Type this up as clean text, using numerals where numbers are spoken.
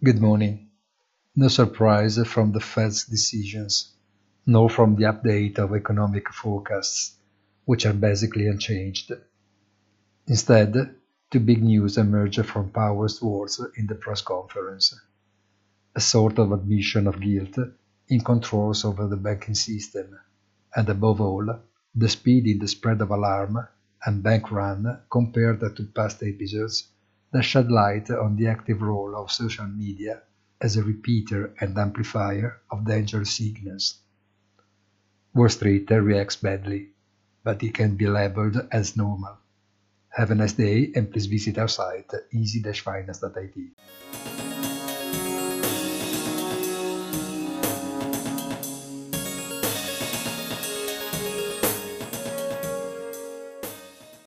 Good morning. No surprise from the Fed's decisions, nor from the update of economic forecasts, which are basically unchanged. Instead, two big news emerge from Powell's words in the press conference. A sort of admission of guilt in controls over the banking system, and above all, the speed in the spread of alarm and bank run compared to past episodes that shed light on the active role of social media as a repeater and amplifier of dangerous signals. Wall Street reacts badly, but it can be labeled as normal. Have a nice day and please visit our site easy-finance.it.